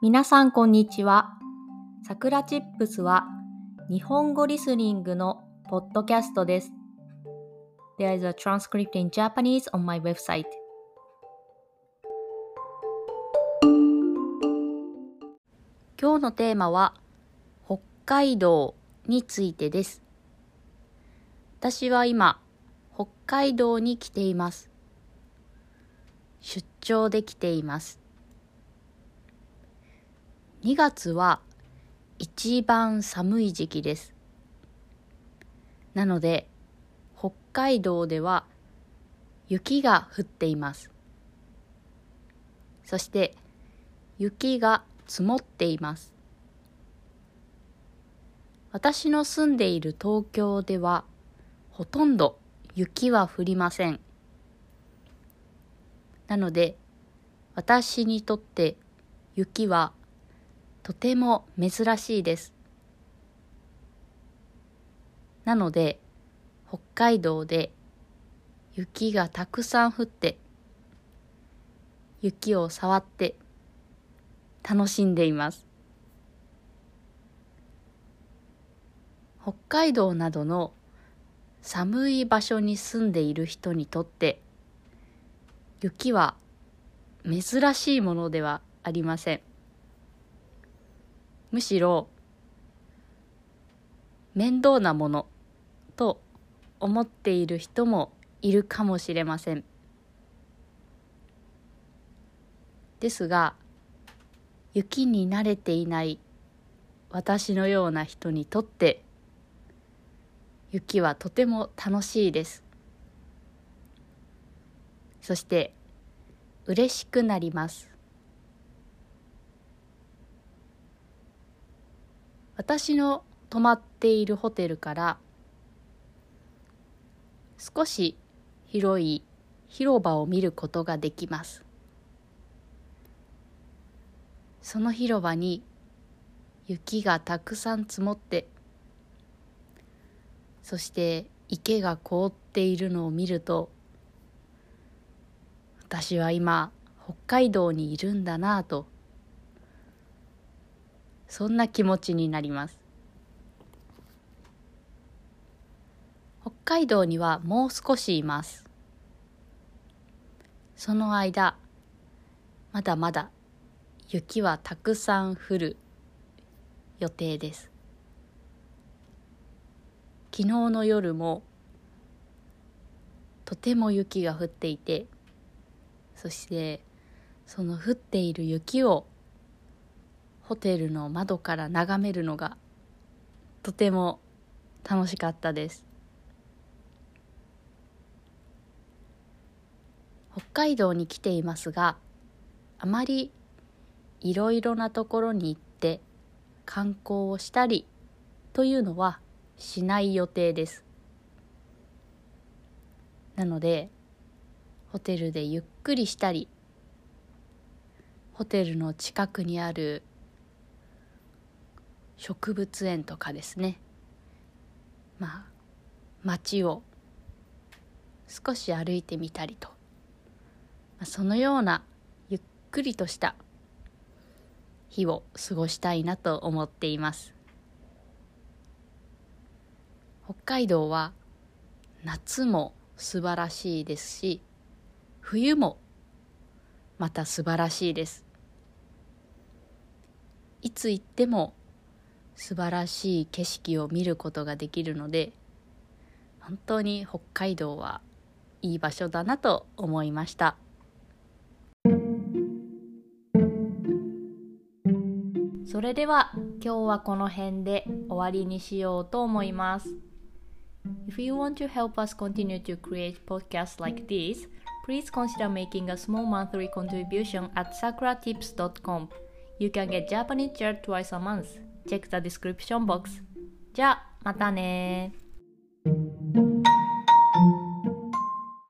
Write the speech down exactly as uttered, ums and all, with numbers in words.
皆さんこんにちは。さくらチップスは日本語リスニングのポッドキャストです。There is a transcript in Japanese on my website. 今日のテーマは北海道についてです。私は今、北海道に来ています。出張で来ています。にがつは一番寒い時期です。なので、北海道では雪が降っています。そして雪が積もっています。私の住んでいる東京ではほとんど雪は降りません。なので、私にとって雪はとても珍しいです。なので、北海道で雪がたくさん降って、雪を触って楽しんでいます。北海道などの寒い場所に住んでいる人にとって、雪は珍しいものではありません。むしろ面倒なものと思っている人もいるかもしれません。ですが、雪に慣れていない私のような人にとって雪はとても楽しいです。そして嬉しくなります。私の泊まっているホテルから少し広い広場を見ることができます。その広場に雪がたくさん積もって、そして池が凍っているのを見ると、私は今北海道にいるんだなぁと、そんな気持ちになります。北海道にはもう少しいます。その間、まだまだ雪はたくさん降る予定です。昨日の夜もとても雪が降っていて、そしてその降っている雪をホテルの窓から眺めるのがとても楽しかったです。北海道に来ていますが、あまりいろいろなところに行って観光をしたりというのはしない予定です。なので、ホテルでゆっくりしたり、ホテルの近くにある植物園とかですね、まあ街を少し歩いてみたりと、そのようなゆっくりとした日を過ごしたいなと思っています。北海道は夏も素晴らしいですし、冬もまた素晴らしいです。いつ行っても素晴らしい景色を見ることができるので、本当に北海道はいい場所だなと思いました。それでは今日はこの辺で終わりにしようと思います。If you want to help us continue to create podcasts like this, please consider making a small monthly contribution at sakura tips dot com. You can get Japanese chair twice a month. Check the description box. じゃあ、またね。